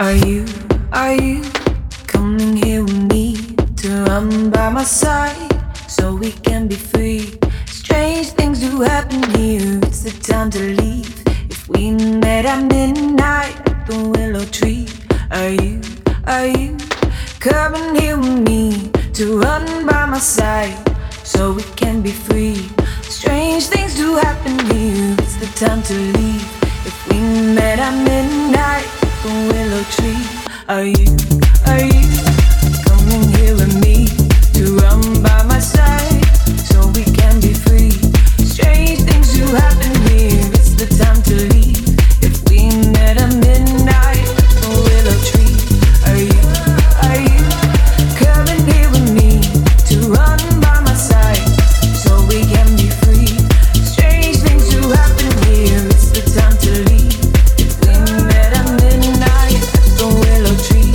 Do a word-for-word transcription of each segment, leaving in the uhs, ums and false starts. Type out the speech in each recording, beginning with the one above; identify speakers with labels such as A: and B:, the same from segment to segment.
A: Are you, are you coming here with me to run by my side so we can be free? Strange things do happen here, it's the time to leave. If we met at midnight at the willow tree, are you, are you coming here with me to run by my side so we can be free? Strange things do happen here, it's the time to leave. If we met at midnight at the willow tree, are you, are you coming here with me to run by my side so we can be free? Strange things do happen here, it's the time to leave. If we met at midnight at the willow tree, are you, are you coming here with me to run by my side so we can be free? Strange things do happen here, it's the time to leave. If we met at midnight at the willow tree.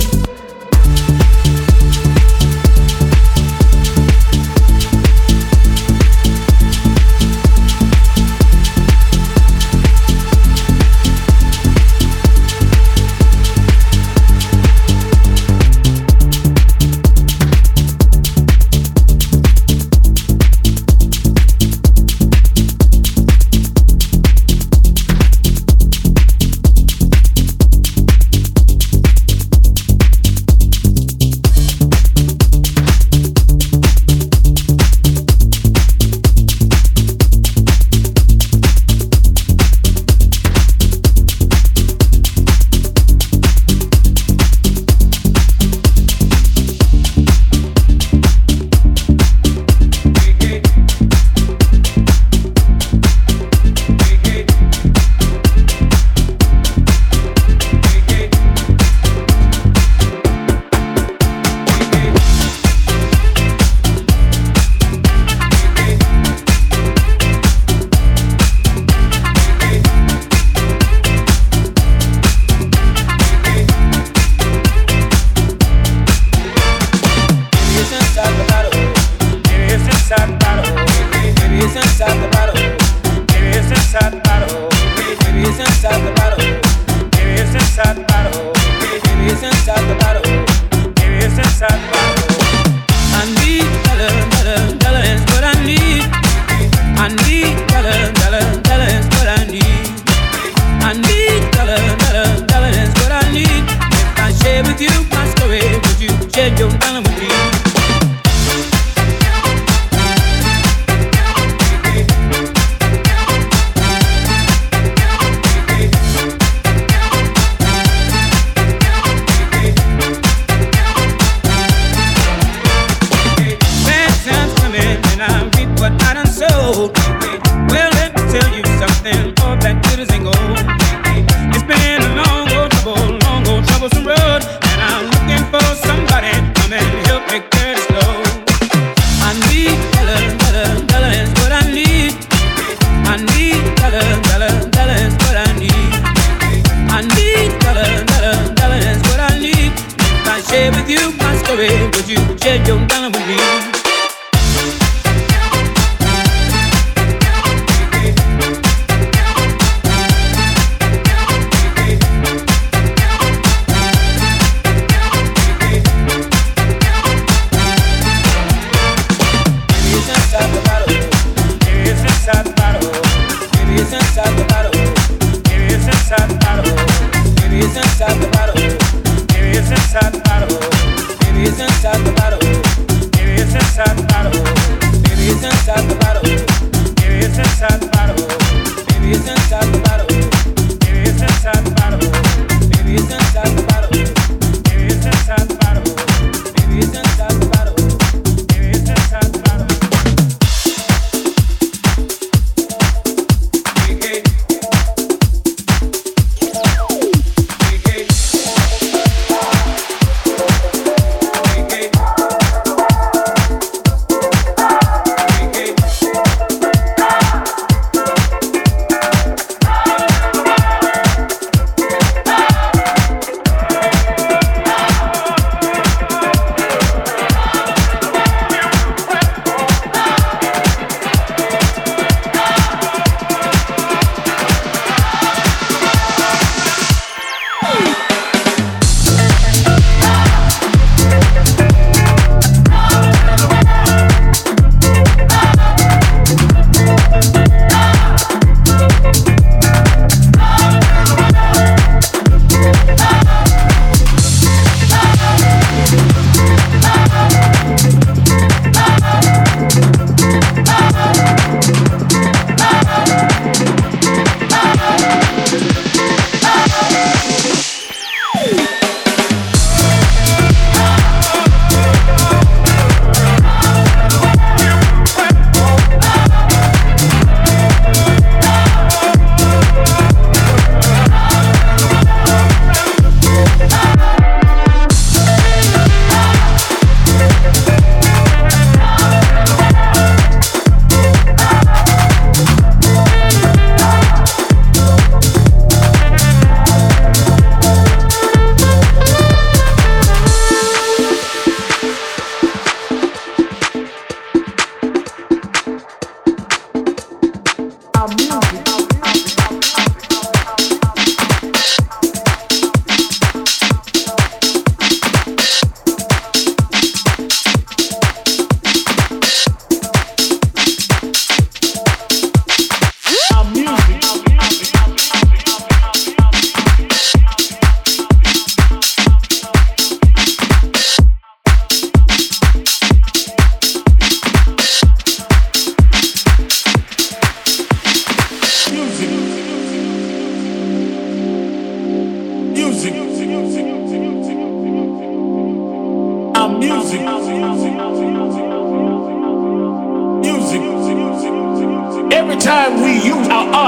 B: Inside the bottle, it is inside the bottle, it is inside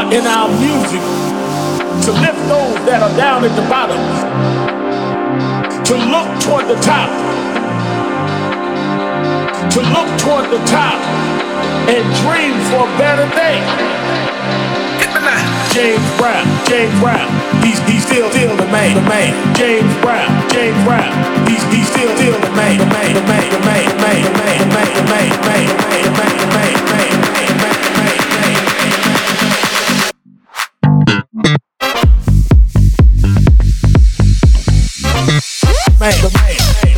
B: part in our music to lift those that are down at the bottom, to look toward the top, to look toward the top and dream for a better day. James Brown, James Brown, he's he's still still the man, the man. James Brown, James Brown, he's he's still still the man, the man, the man, the man, the man, the man, the man, the man, the man, the man, the man, the man, the man, the man, the man. Man, the man.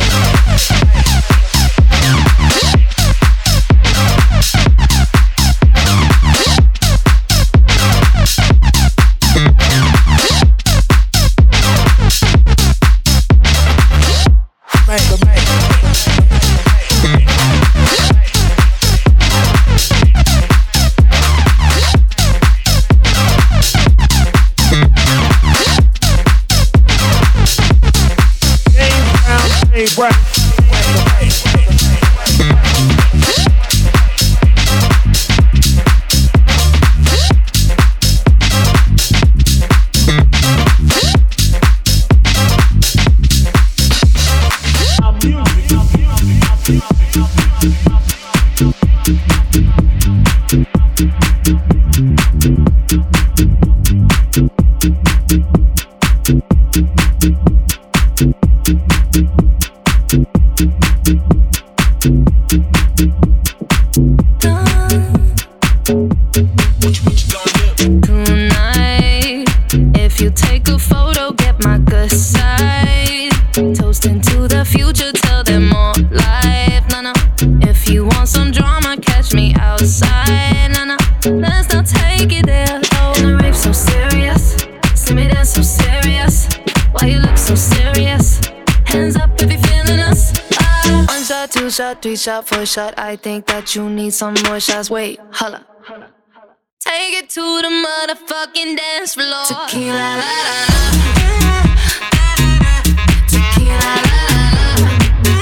C: Three shot, four shot, I think that you need some more shots. Wait, holla. Take it to the motherfucking dance floor. Tequila, la, la, la. Tequila, la, la, la.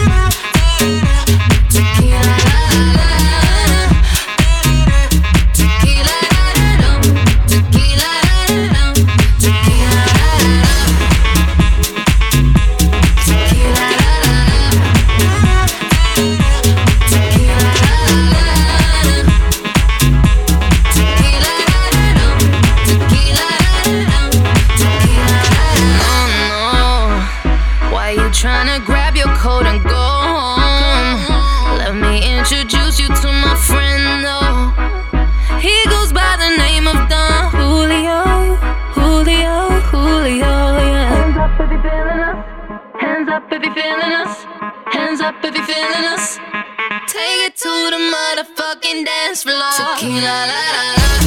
C: Tequila, la, la, la. Tequila, la, la, la. Tequila, la, la, la. Tequila, la, la, la. Tequila, la, la, la. Tryna grab your coat and go home. Let me introduce you to my friend, though. He goes by the name of Don Julio, Julio, Julio, yeah. Hands up if you feeling us. Hands up if you feeling us. Hands up if you feeling us. Take it to the motherfucking dance floor. Tequila, la, la, la.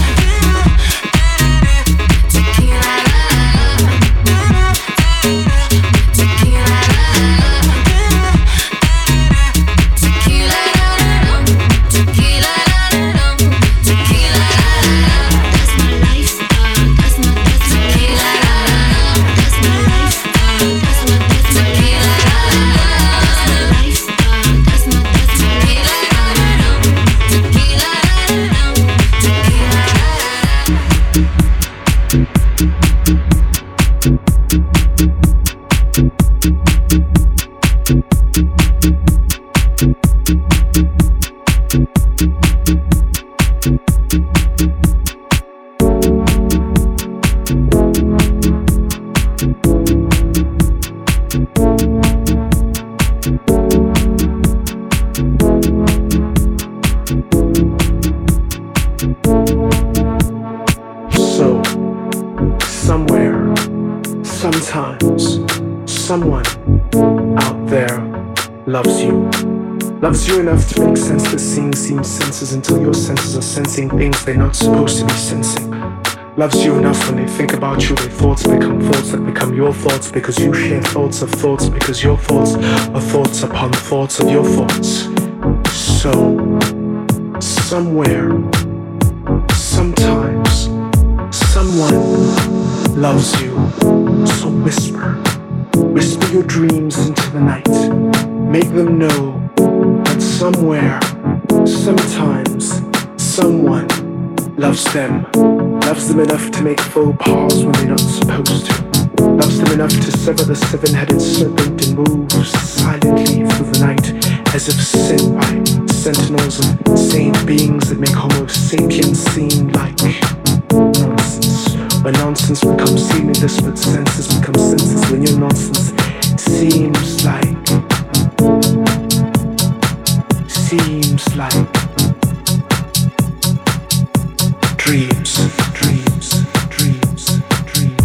D: Someone out there loves you. Loves you enough to make sense that seeing seems senses until your senses are sensing things they're not supposed to be sensing. Loves you enough when they think about you, their thoughts become thoughts that become your thoughts because you share thoughts of thoughts because your thoughts are thoughts upon thoughts of your thoughts. So, somewhere, sometimes, someone loves you. So whisper. Whisper your dreams into the night. Make them know that somewhere, sometimes, someone loves them. Loves them enough to make faux pas when they're not supposed to. Loves them enough to sever the seven-headed serpent and moves silently through the night as if sent by sentinels of saint beings that make Homo sapiens seem like nonsense. When nonsense becomes seemless, but senses become senses. When your nonsense seems like, seems like dreams, dreams, dreams, dreams.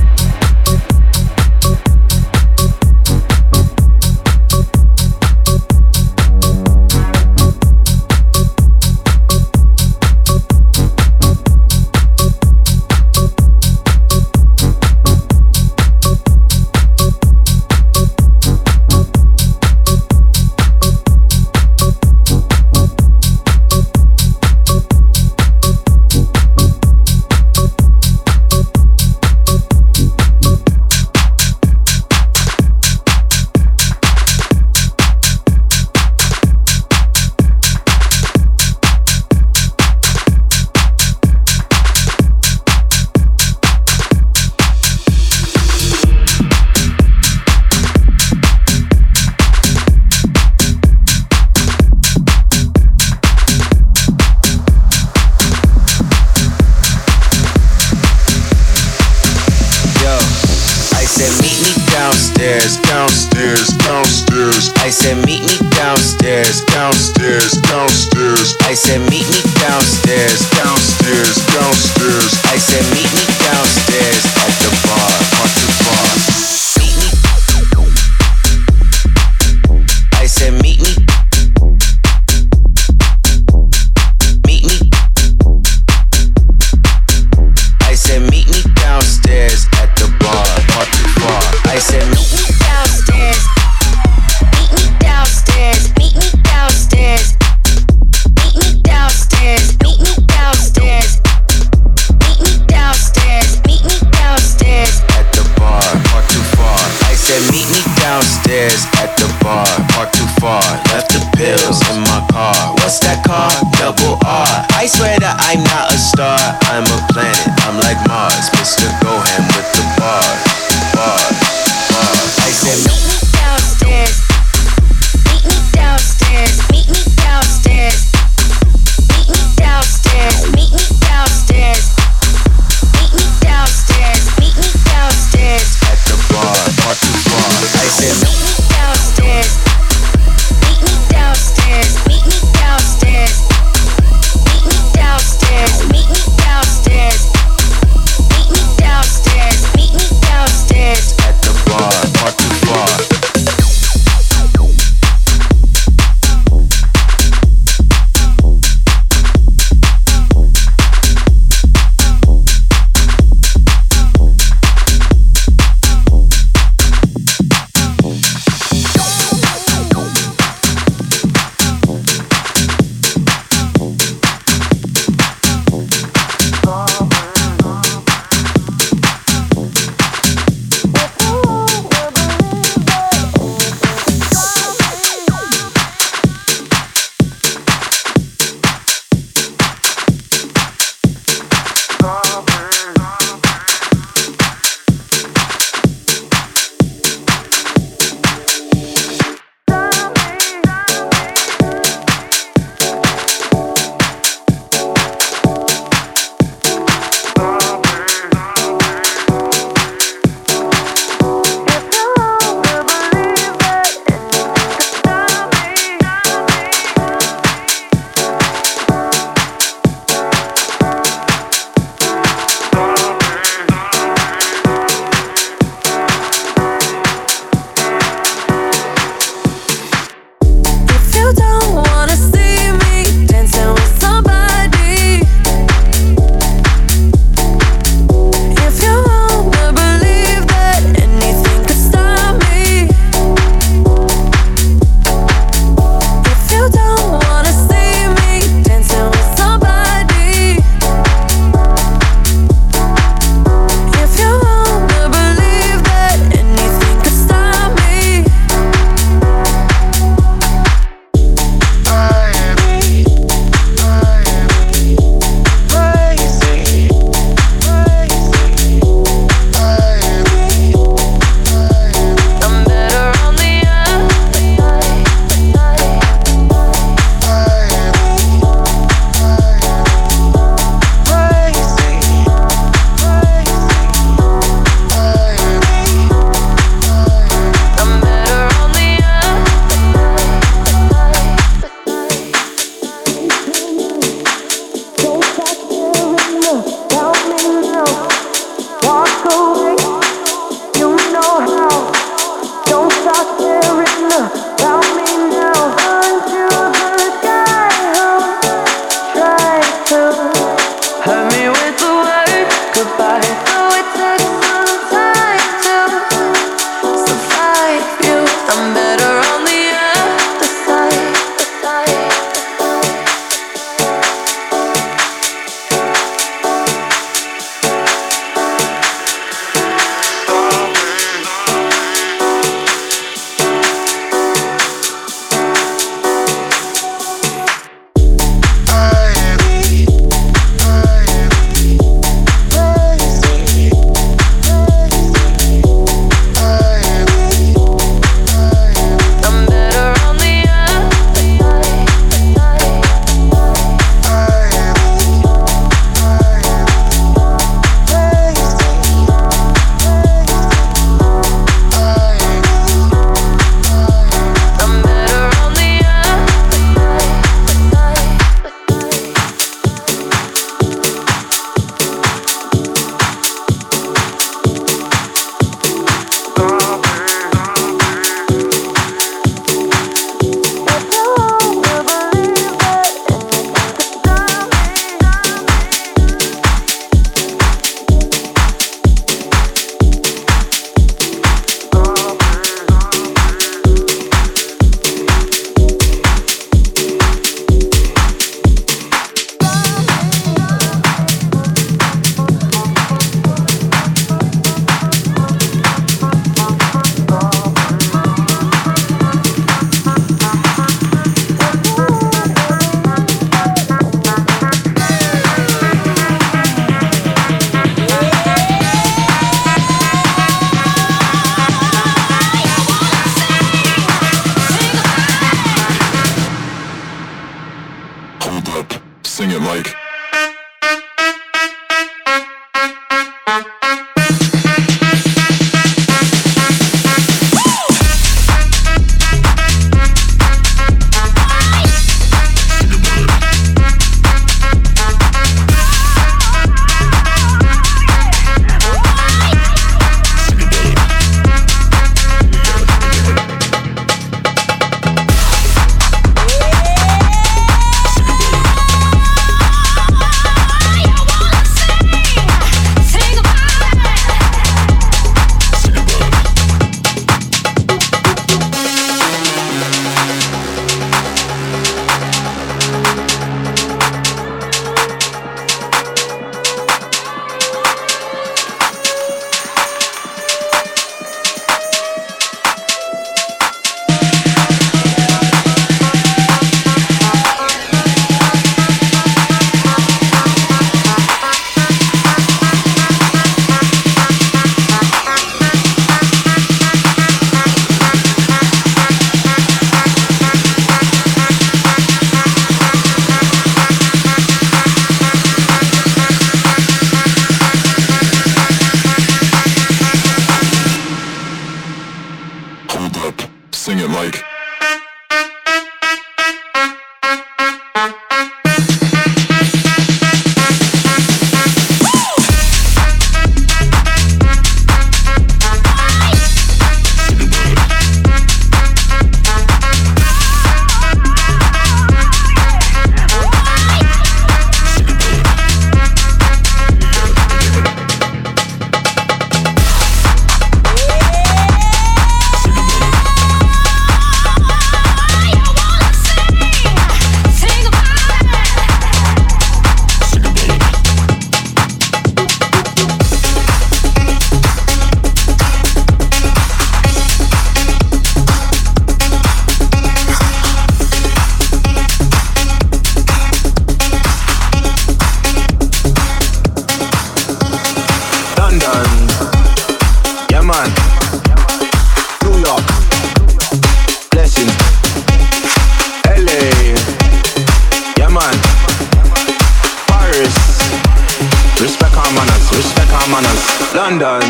E: London,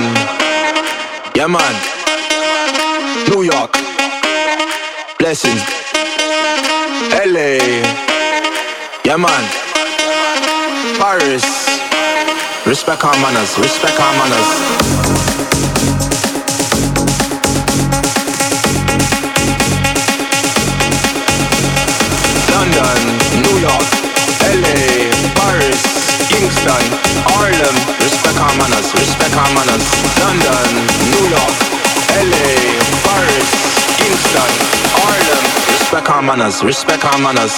E: yeah man, New York, blessings, L A, yeah man, Paris, respect our manners, respect our manners. manners, respect our manners. London, New York, L A, Paris, Kingston, Harlem. Respect our manners, respect our manners.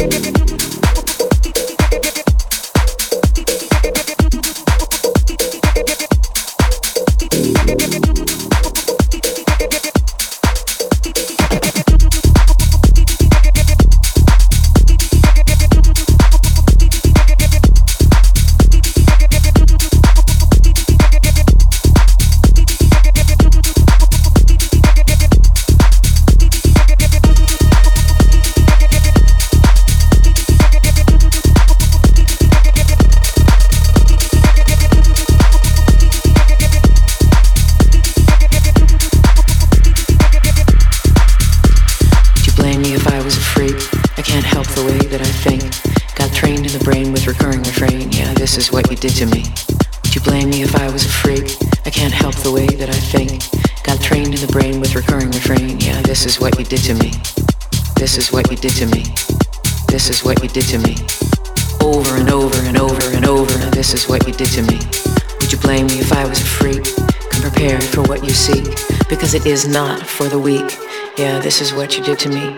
F: Did to me. Would you blame me if I was a freak? I can't help the way that I think. Got trained in the brain with recurring refrain. Yeah, this is what you did to me. This is what you did to me. This is what you did to me. Over and over and over and over. This is what you did to me. Would you blame me if I was a freak? Come prepared for what you seek, because it is not for the weak. Yeah, this is what you did to me.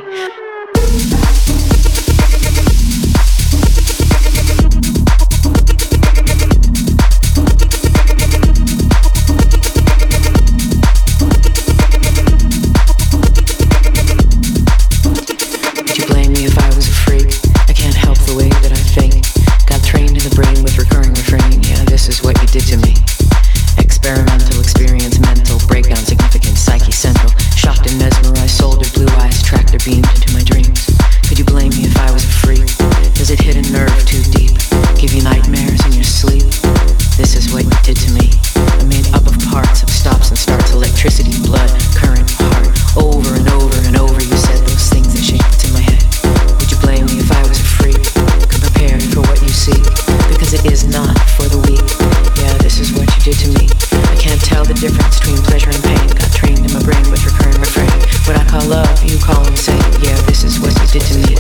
F: Beamed into my dreams. Could you blame me if I was a freak? Does it hit a nerve too deep? Give you nightmares in your sleep? This is what you did to me. I'm made up of parts, of stops and starts, electricity, blood, current, heart. Over and over and over you said those things that shake in my head. Would you blame me if I was a freak? Come prepared for what you seek, because it is not for the weak. Yeah, this is what you did to me. I can't tell the difference between pleasure and pain. Got trained in my brain with recurring refrain. What I call love, you call insane. Yeah, this is what you did to me.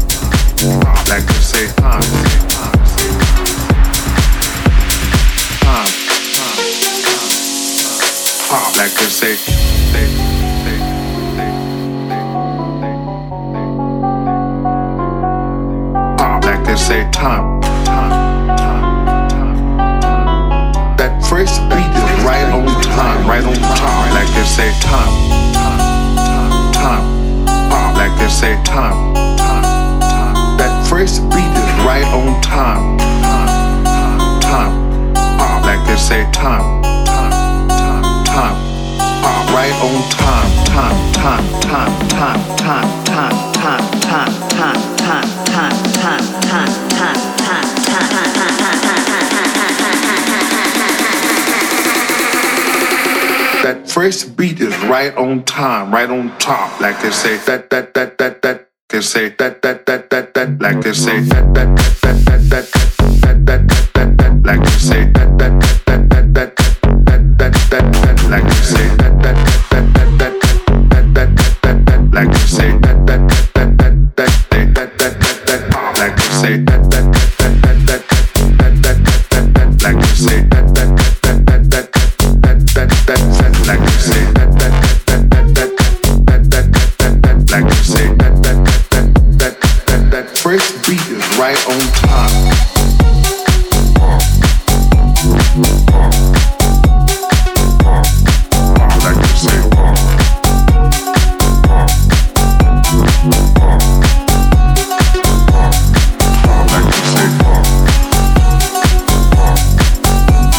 G: Time, like they say, they, they, they, they, pop, like they say, time, time, time, time. That first beat is right on time, right on time, like they say, time, time, time, time, pop, like they say, time, time, time. That first beat is right on time, time, time, time, pop, like they say, time, time, time, time, pop, right on time, time, time, time, time, time, time, time, time, time, time, time, time, time, time, time, that first beat is right on time, right on top, like they say, that, that, that, that, that, they say, that, that, that, that, that, like they say, that, that, that, that, that, that, that, that, that, like they say, that, that, that, that, that, that, that, that, like they say, that, that, that, that, that, that, that, that, like they say, that, that, that, that, that, that, that, that, like they say, that, that, that, that, that, that, that, like they say, that, that, that, that, that, that, that, like they say, that, that, that, that, that, that, that, like they say, that, that, that, that, that, that first beat is right on time. Like they say, like they say,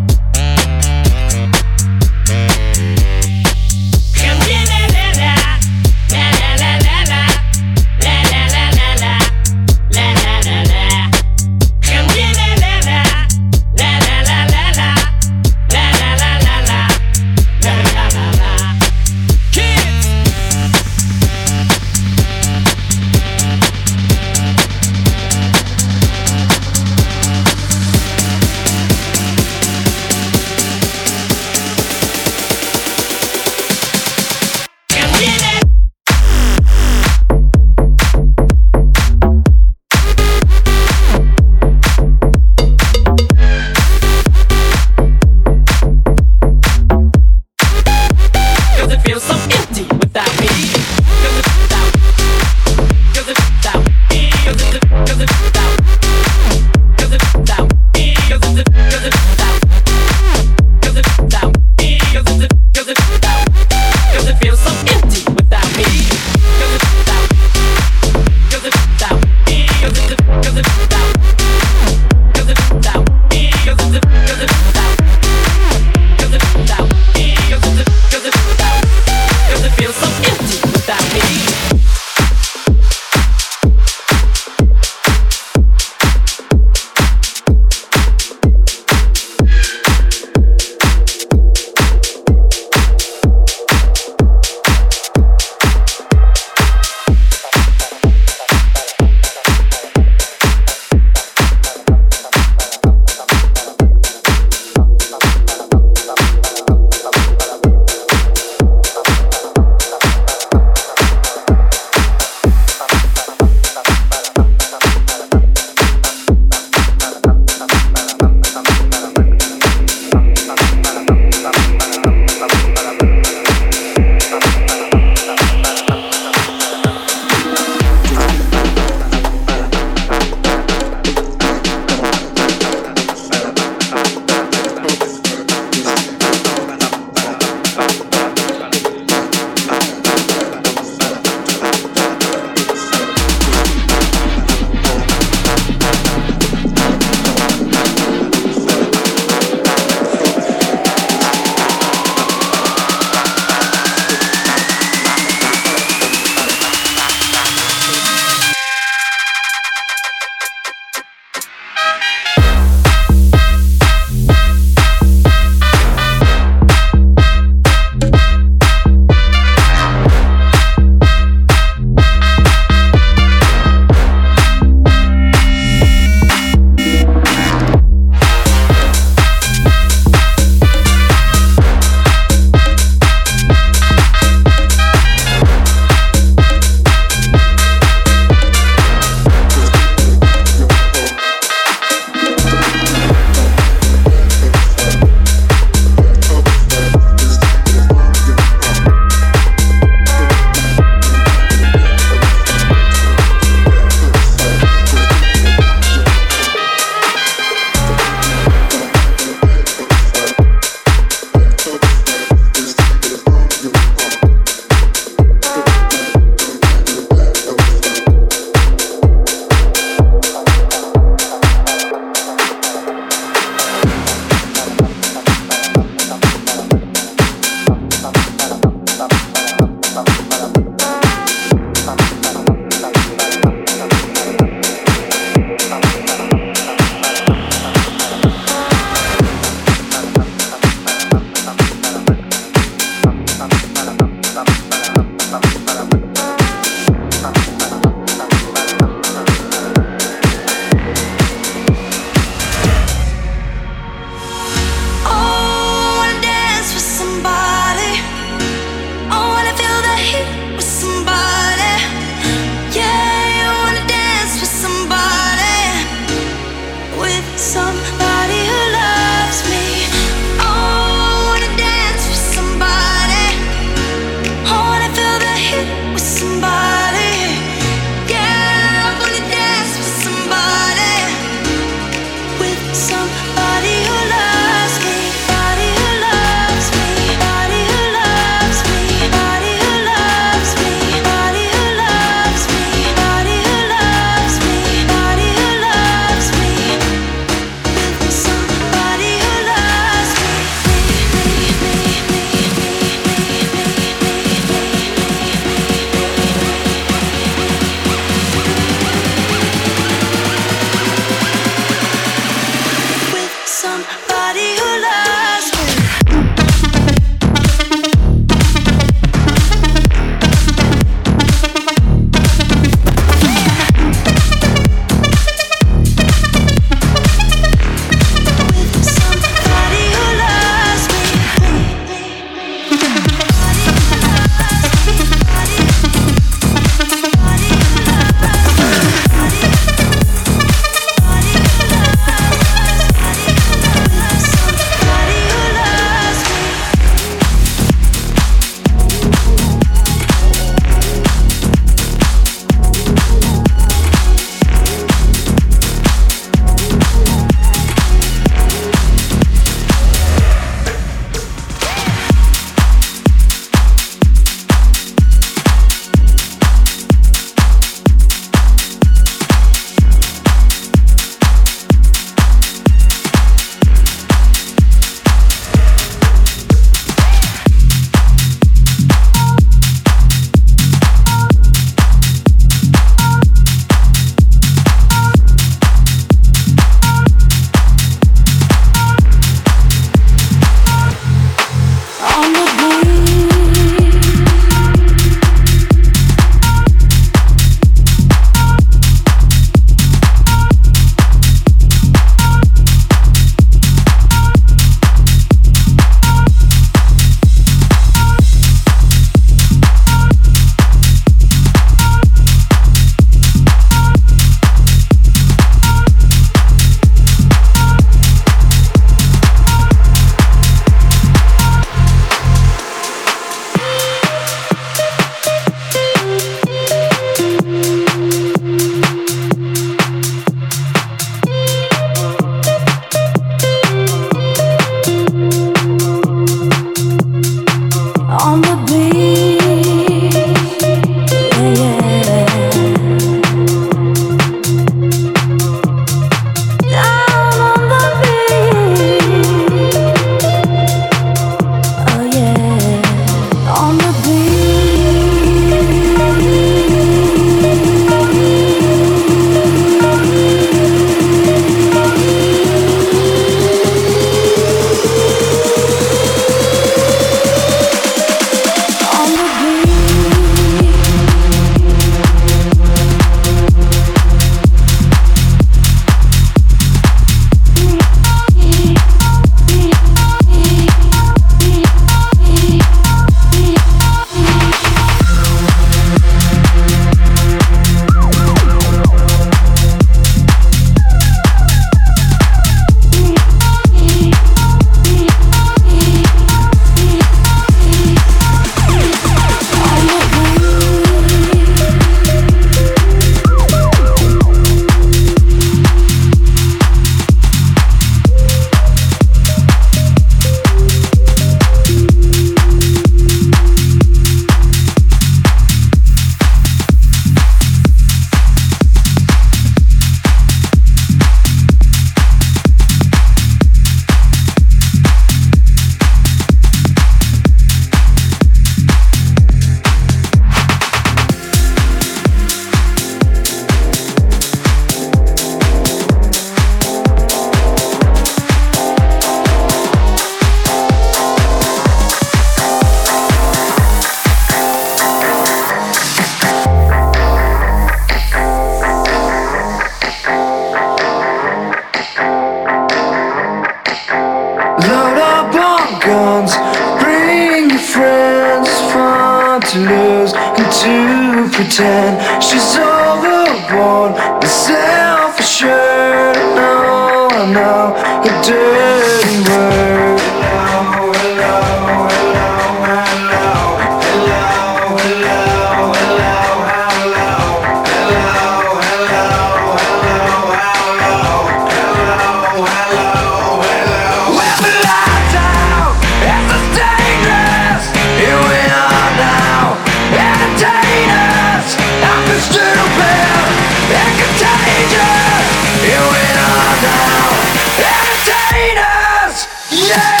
A: pretend she's overboard with self-assured. No, I know a dirty word. Hello, hello, hello, hello, hello, hello, hello, hello, hello, hello, hello, hello, hello, hello. With the lights out, it's a dangerous. Here we are now, entertainers. Nothing stupid and contagious. Here we are now, entertainers. Yeah.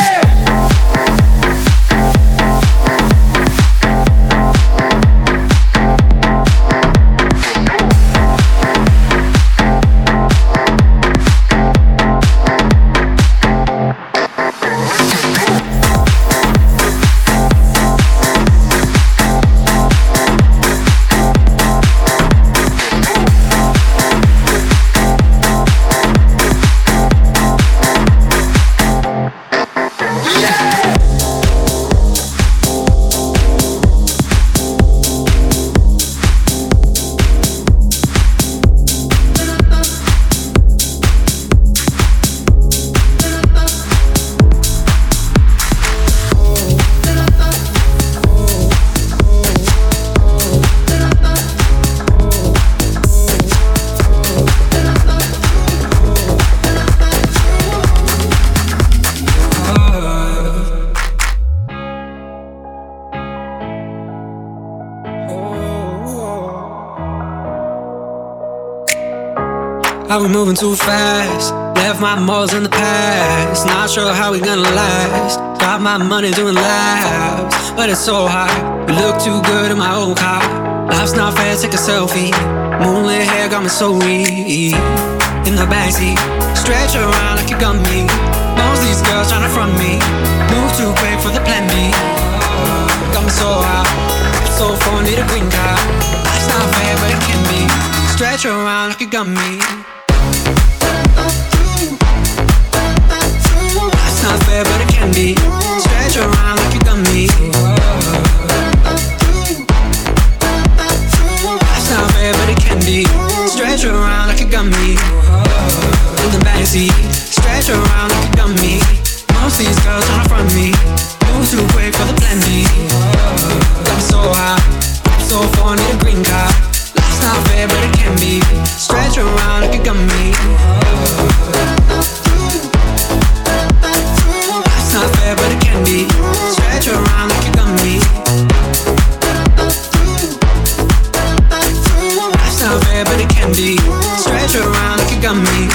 H: Are we moving too fast? Left my morals in the past. Not sure how we gonna last. Got my money doing laps, but it's so hot. We look too good in my old car. Life's not fair, take a selfie. Moonlit hair got me so weak. In the backseat, stretch around like you got me. Most these girls tryna front me. Move too quick for the plan B. Got me so hot, so far need a green card. Life's not fair, but it can be. Stretch around like you got me. It's not fair, but it can be. Stretch around like you got me. It's not fair, but it can be. Stretch around like you got me. In the backseat, stretch around like you got me. Most these girls tryna front me. Move too quick for the plan B. Got me so high, so far need a green card. Life's not fair, but it can be. Stretch around like you got me. It's not fair, but it can be. Stretch around like you got me. It's not fair, but it can be. Stretch around like you got me.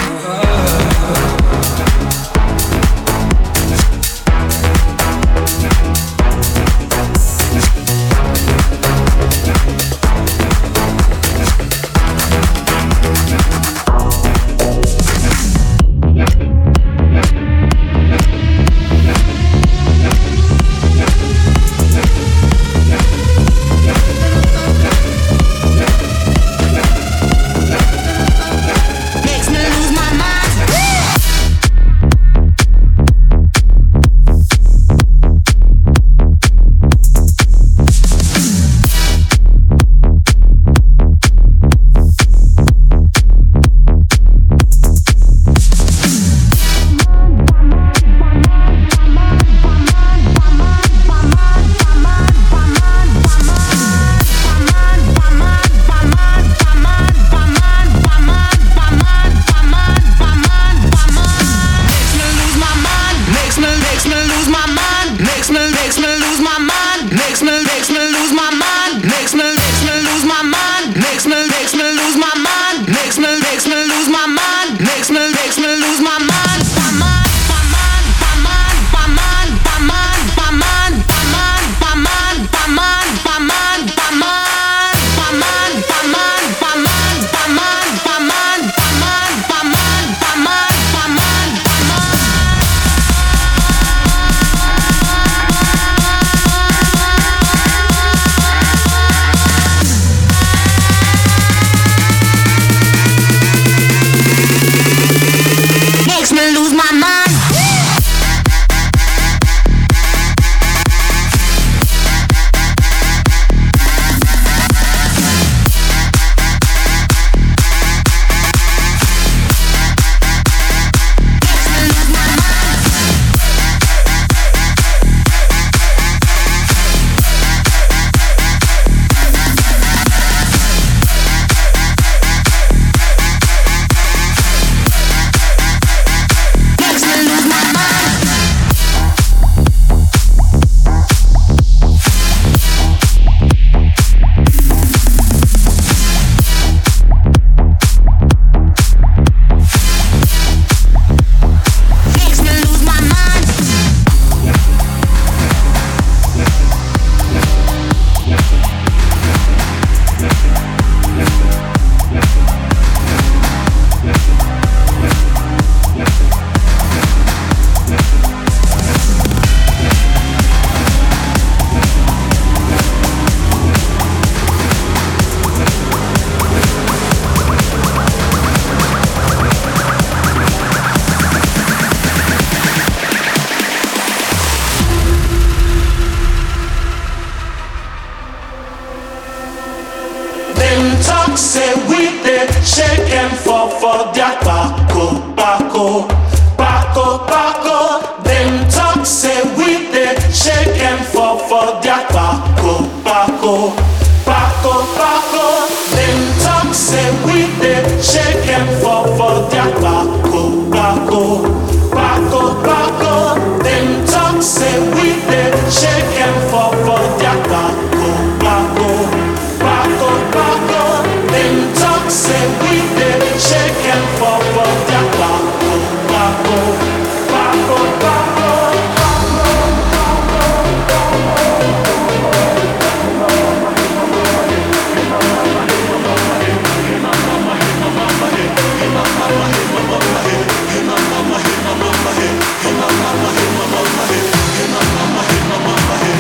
B: talk say we dey shake and fall for their Paco, Paco, Paco, Paco. Them talk say we dey shake and fall for their Paco, Paco, Paco, Paco. Them talk say we dey shake and fall for their Paco, Paco, Paco, Paco. Them talk say we dey shake and fall for their Paco, Paco, Paco, Paco. Them talk say we dey shake and fall for their Paco, Paco, Paco, Paco. Mama,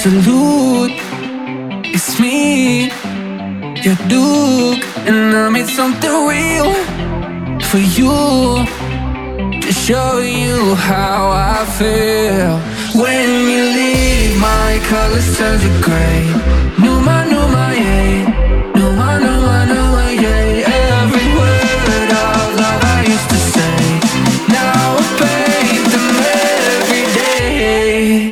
H: salute. It's me, your Duke, and I made something real for you, to show you how I feel. When you leave, my colors turn to gray. Numa, Numa, yeah. Numa, Numa, Numa, yeah. Every word of love I used to say, now I paint them every day.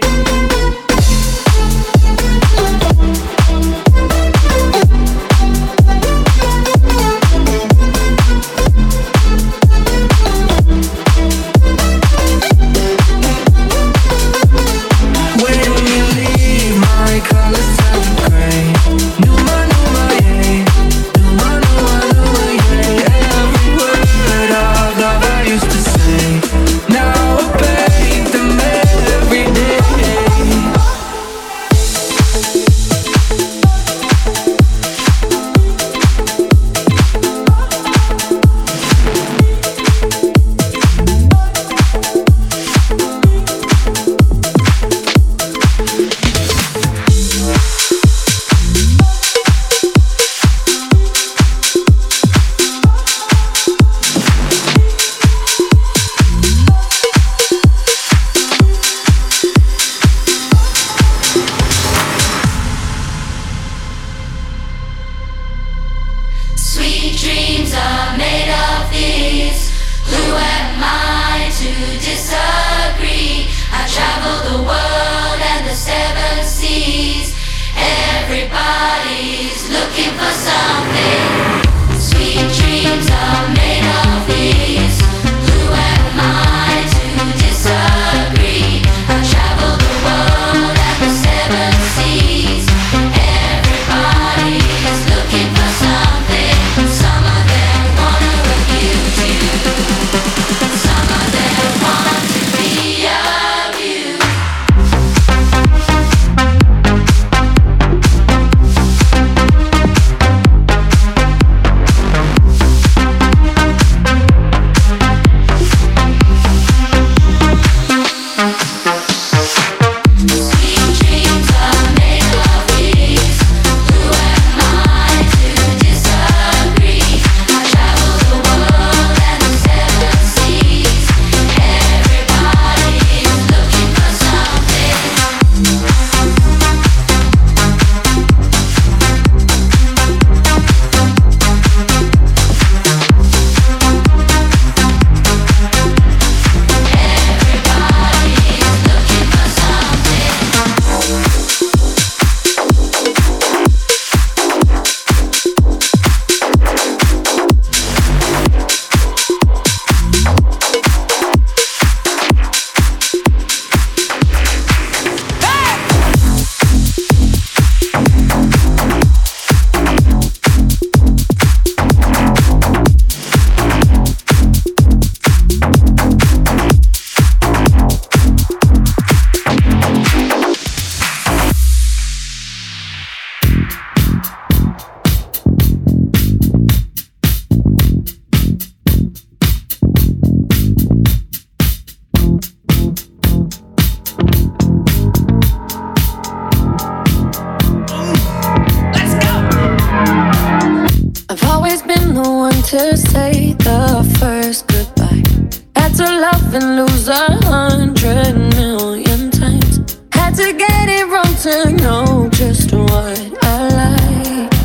A: to say the first goodbye. Had to love and lose a hundred million times. Had to get it wrong to know just what I like.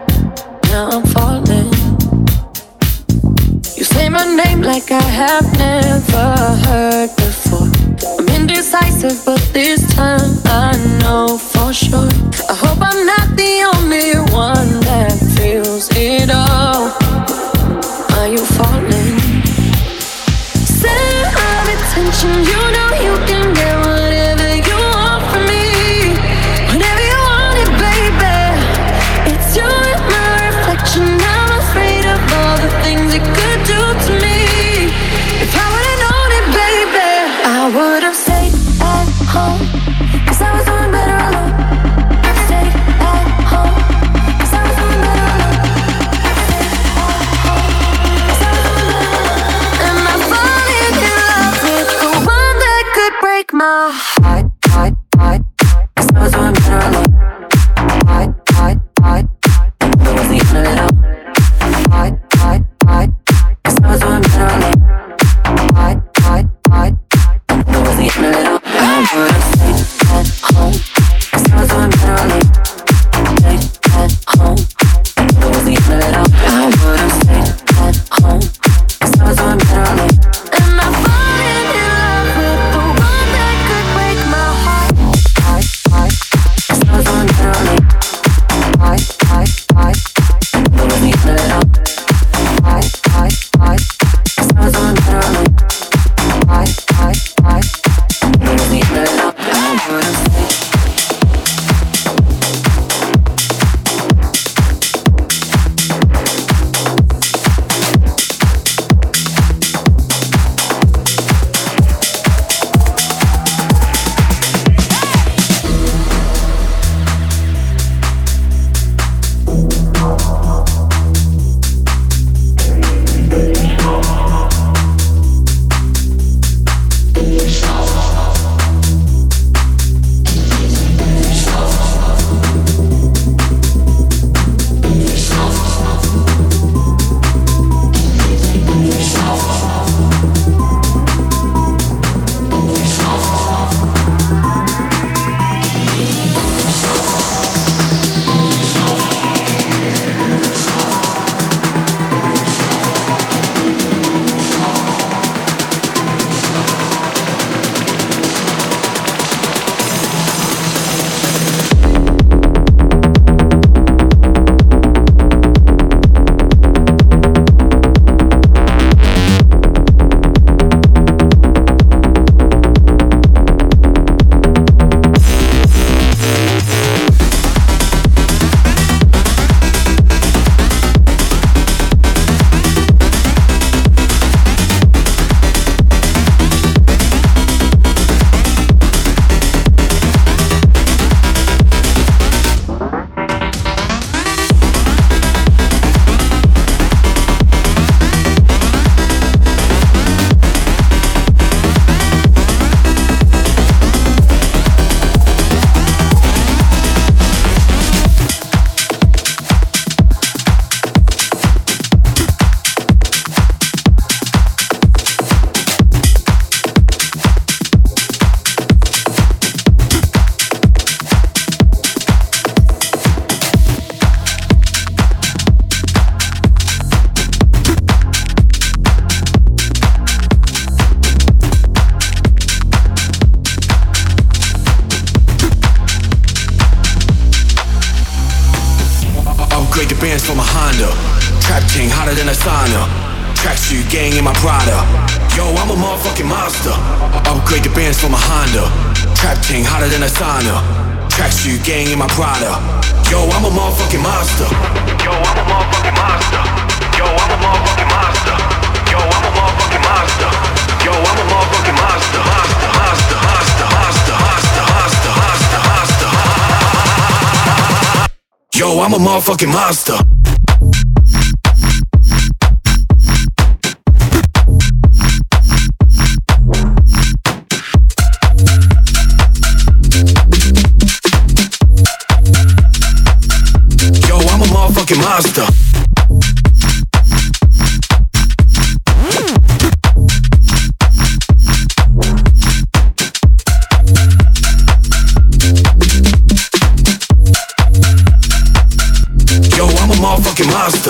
A: Now I'm falling. You say my name like I have never heard before. I'm indecisive, but this time I know for sure. I hope I'm not the only one that feels it all. Are you falling? Center of attention, you know you can get whatever you want from me. Whenever you want it, baby. It's you and my reflection. I'm afraid of all the things it could do to me. If I would've known it, baby, I would've stayed at home, 'cause I was doing better alone. Stayed at home, 'cause I was doing better alone. Stayed at home, 'cause I was doing better alone. And I falling in love with the one that could break my heart, heart, heart, 'cause I was doing better
I: Yo, I'm a motherfucking monster. Yo, I'm a motherfucking monster. Motherfucking monster.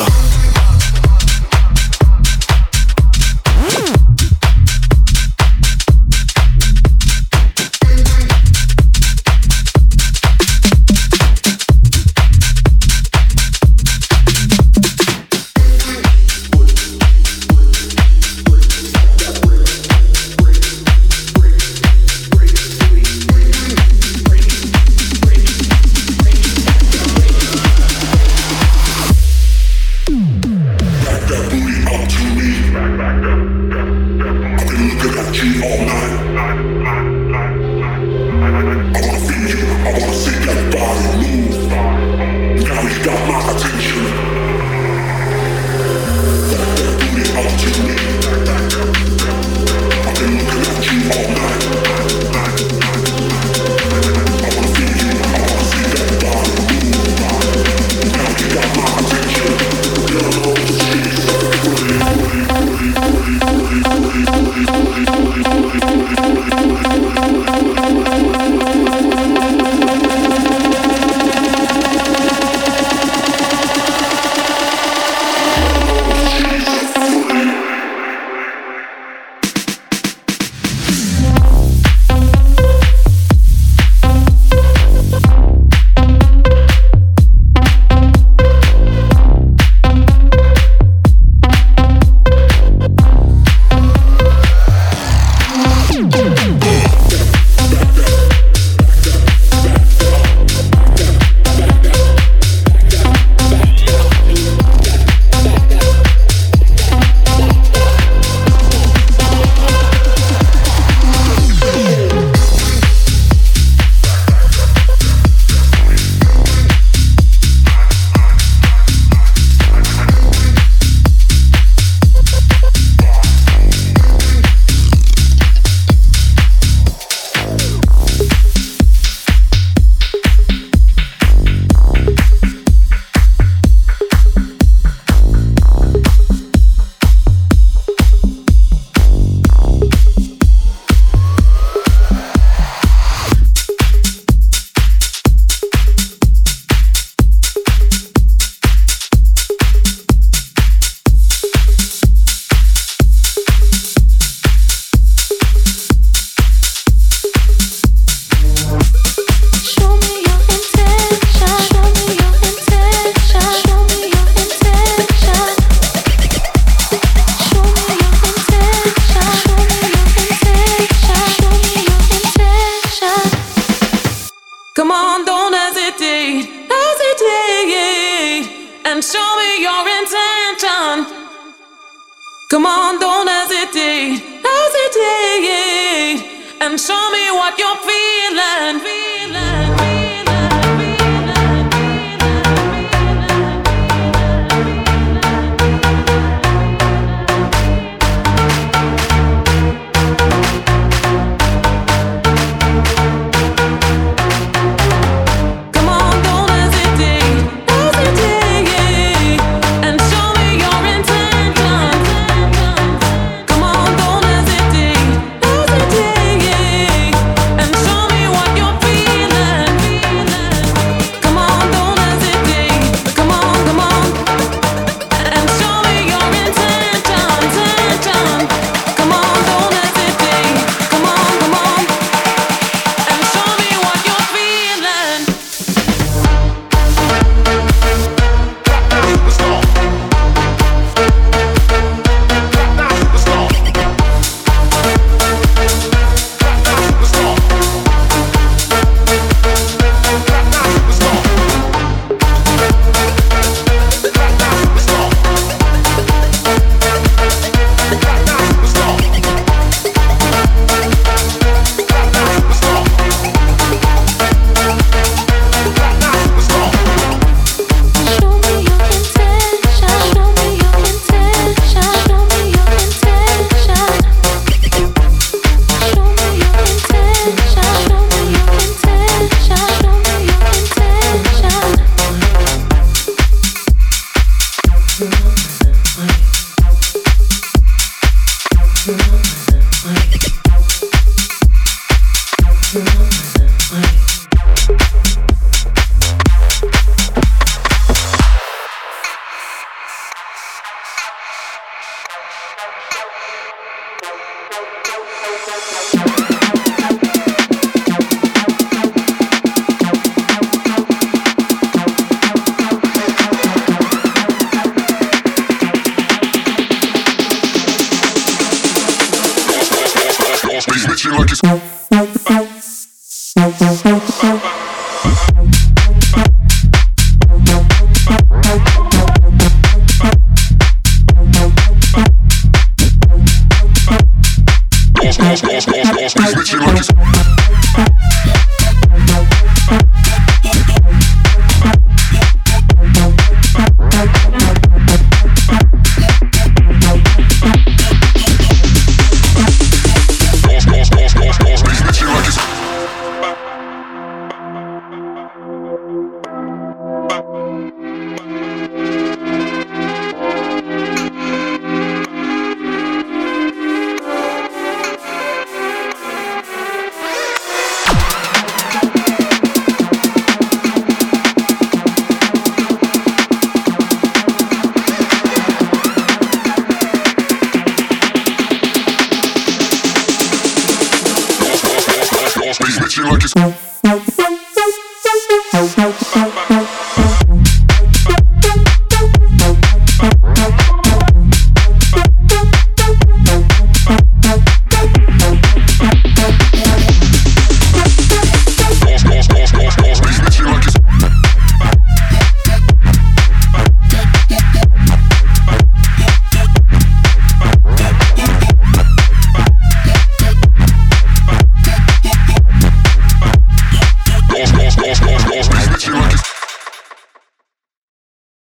J: Come on, don't hesitate, hesitate, and show me your intention. Come on, don't hesitate, hesitate, and show me what you're feeling.